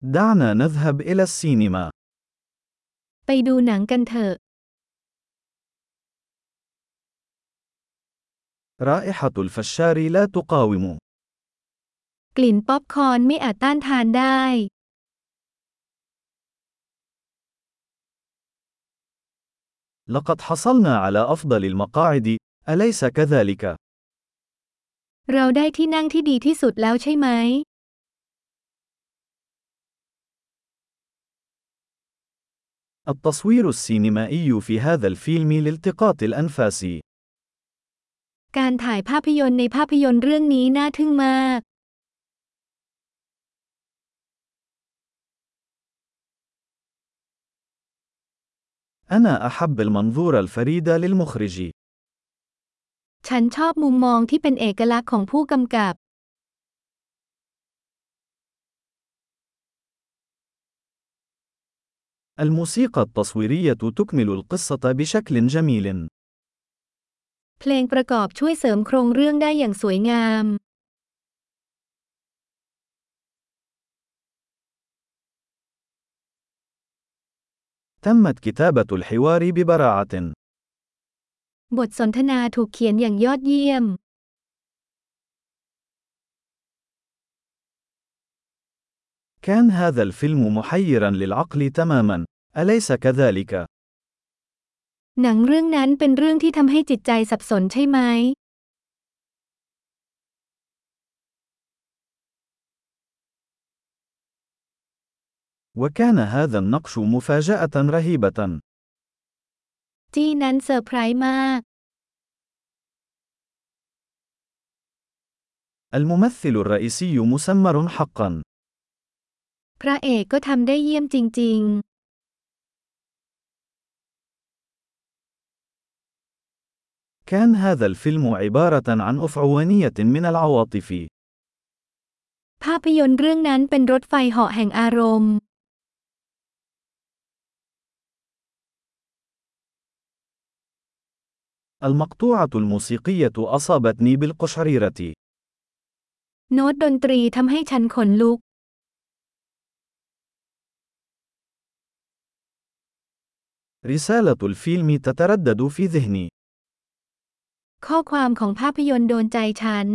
دعنا نذهب إلى السينما. ไปดูหนังกันเถอะ رائحة الفشار لا تقاوم. กลิ่นป๊อปคอร์นไม่อาจต้านทานได้ لقد حصلنا على أفضل المقاعد، أليس كذلك؟ เราได้ที่นั่งที่ดีที่สุดแล้วใช่ไหม التصوير السينمائي في هذا الفيلم لالتقاط الأنفاس. การถ่ายภาพยนตร์ในภาพยนตร์เรื่องนี้น่าทึ่งมาก أنا أحب المنظور الفريد للمخرج. ฉันชอบมุมมองที่เป็นเอกลักษณ์ของผู้กำกับ الموسيقى التصويرية تكمل القصة بشكل جميل. เพลงประกอบช่วยเสริมโครงเรื่องได้อย่างสวยงาม تمت كتابة الحوار ببراعة. บทสนทนาถูกเขียนอย่างยอดเยี่ยม كان هذا الفيلم محيرا للعقل تماما، أليس كذلك؟ หนังเรื่องนั้นเป็นเรื่องที่ทำให้จิตใจสับสนใช่ไหม وكان هذا النقش مفاجأة رهيبة. จี้นั้นเซอร์ไพรส์มาก الممثل الرئيسي مسمر حقا. พระเอกก็ทำได้เยี่ยมจริง كان هذا الفيلم عبارة عن أفعوانية من العواطف. ๆ ภาพยนตร์เรื่องนั้นเป็นรถไฟเหาะแห่งอารมณ์ المقطوعة الموسيقية أصابتني بالقشعريرة. โน้ตดนตรีทำให้ฉันขนลุก رسالة الفيلم تتردد في ذهني. ข้อความของภาพยนตร์โดนใจฉัน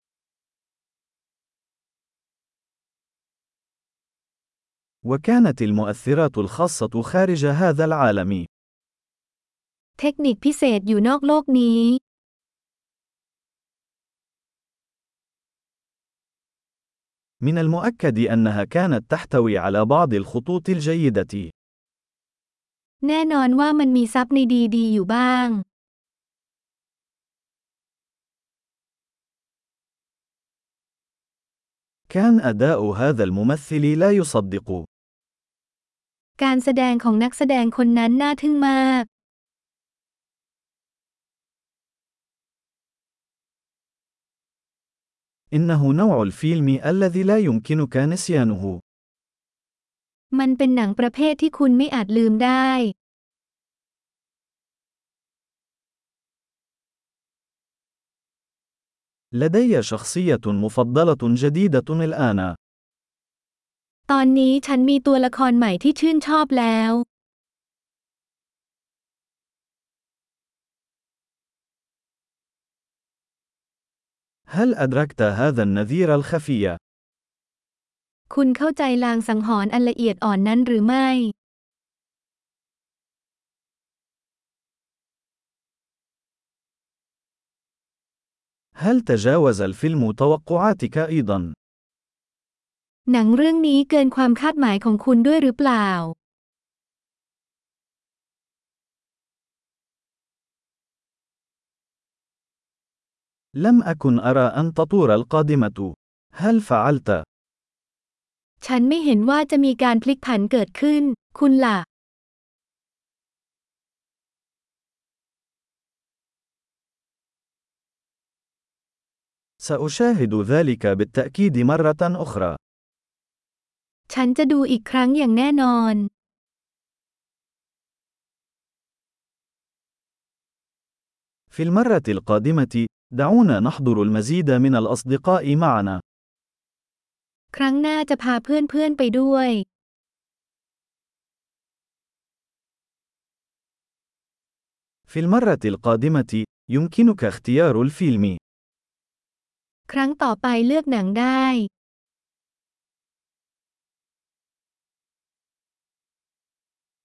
وكانت المؤثرات الخاصة خارج هذا العالم. เทคนิคพิเศษอยู่นอกโลกนี้ من المؤكد أنها كانت تحتوي على بعض الخطوط الجيدة. แน่นอนว่ามันมีซับในดีๆอยู่บ้าง كان أداء هذا الممثل لا يصدق. การแสดงของนักแสดงคนนั้นน่าทึ่งมาก إنه نوع الفيلم الذي لا يمكنك نسيانه. มันเป็นหนังประเภทที่คุณไม่อาจลืมได้ لدي شخصية مفضلة جديدة الآن. ตอนนี้ฉันมีตัวละครใหม่ที่ชื่นชอบแล้ว هل أدركت هذا النذير الخفي؟ คุณเข้าใจลางสังหรณ์อันละเอียดอ่อนนั้นหรือไม่ هل تجاوز الفيلم توقعاتك أيضا؟ หนังเรื่องนี้เกินความคาดหมายของคุณด้วยหรือเปล่า لم أكن أرى أن تطور القادمة. هل فعلت؟ ฉันไม่เห็นว่าจะมีการพลิกผันเกิดขึ้น คุณล่ะ سأشاهد ذلك بالتأكيد مرة أخرى. ฉันจะดูอีกครั้งอย่างแน่นอน في المرة القادمة، دعونا نحضر المزيد من الأصدقاء معنا. ครั้งหน้าจะพาเพื่อนๆไปด้วย في المرة القادمة، يمكنك اختيار الفيلم. ครั้งต่อไปเลือกหนังได้